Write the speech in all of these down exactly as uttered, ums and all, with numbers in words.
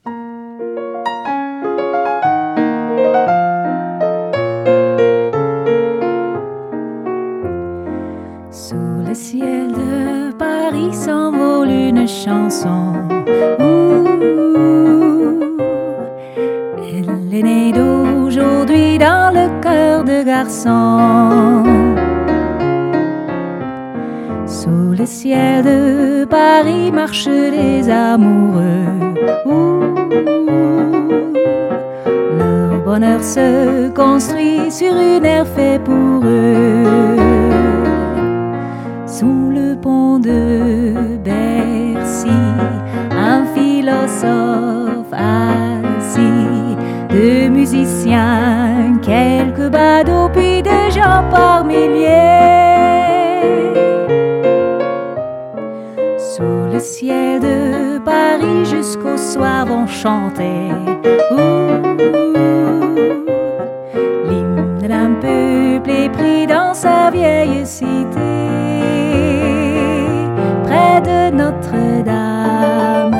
Sous le ciel de Paris s'envole une chanson. Ouh, elle est née d'aujourd'hui dans le cœur de garçon. Sous le ciel de Paris marchent les amoureux. Ouh, leur bonheur se construit sur une aire faite pour eux. Sous le pont de Bercy, un philosophe assis, deux musiciens, quelques badauds, puis des gens par milliers. Sous le ciel de Paris jusqu'au soir vont chanter ouh, l'hymne d'un peuple épris dans sa vieille cité. Près de Notre-Dame,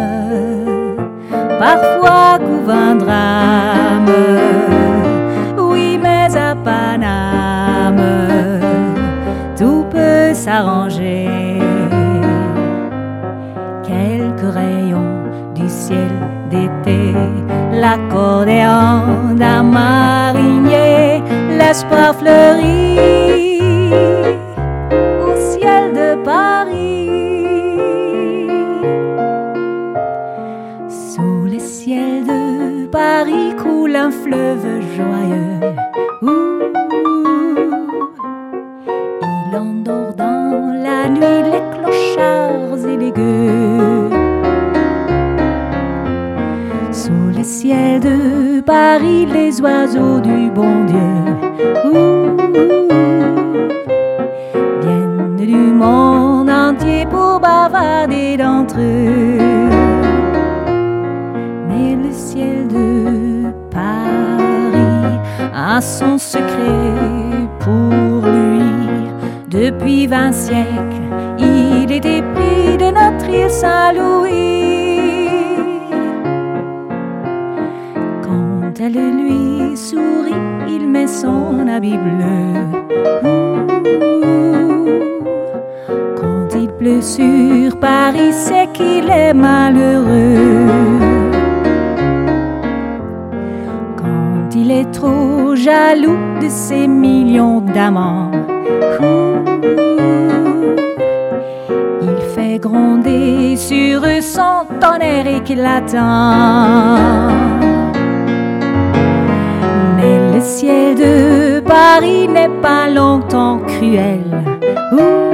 parfois couvre un drame. Oui, mais à Paname, tout peut s'arranger. Quelques rayons du ciel d'été, l'accordéon d'un marinier, l'espoir fleurit au ciel de Paris. Sous le ciel de Paris coule un fleuve joyeux. Ouh, il endort dans la nuit les clochards et les gueux. Sous le ciel de Paris les oiseaux du bon Dieu ouh, viennent du monde entier pour bavarder d'entre eux. Mais le ciel de Paris a son secret pour lui. Depuis vingt siècles, il est épris de notre île Saint-Louis. Quand elle lui sourit, il met son habit bleu. Quand il pleut sur Paris, c'est qu'il est malheureux. Quand il est trop jaloux de ses millions d'amants, il fait gronder sur eux son tonnerre éclatant. Mais le ciel de Paris n'est pas longtemps cruel. Ouh,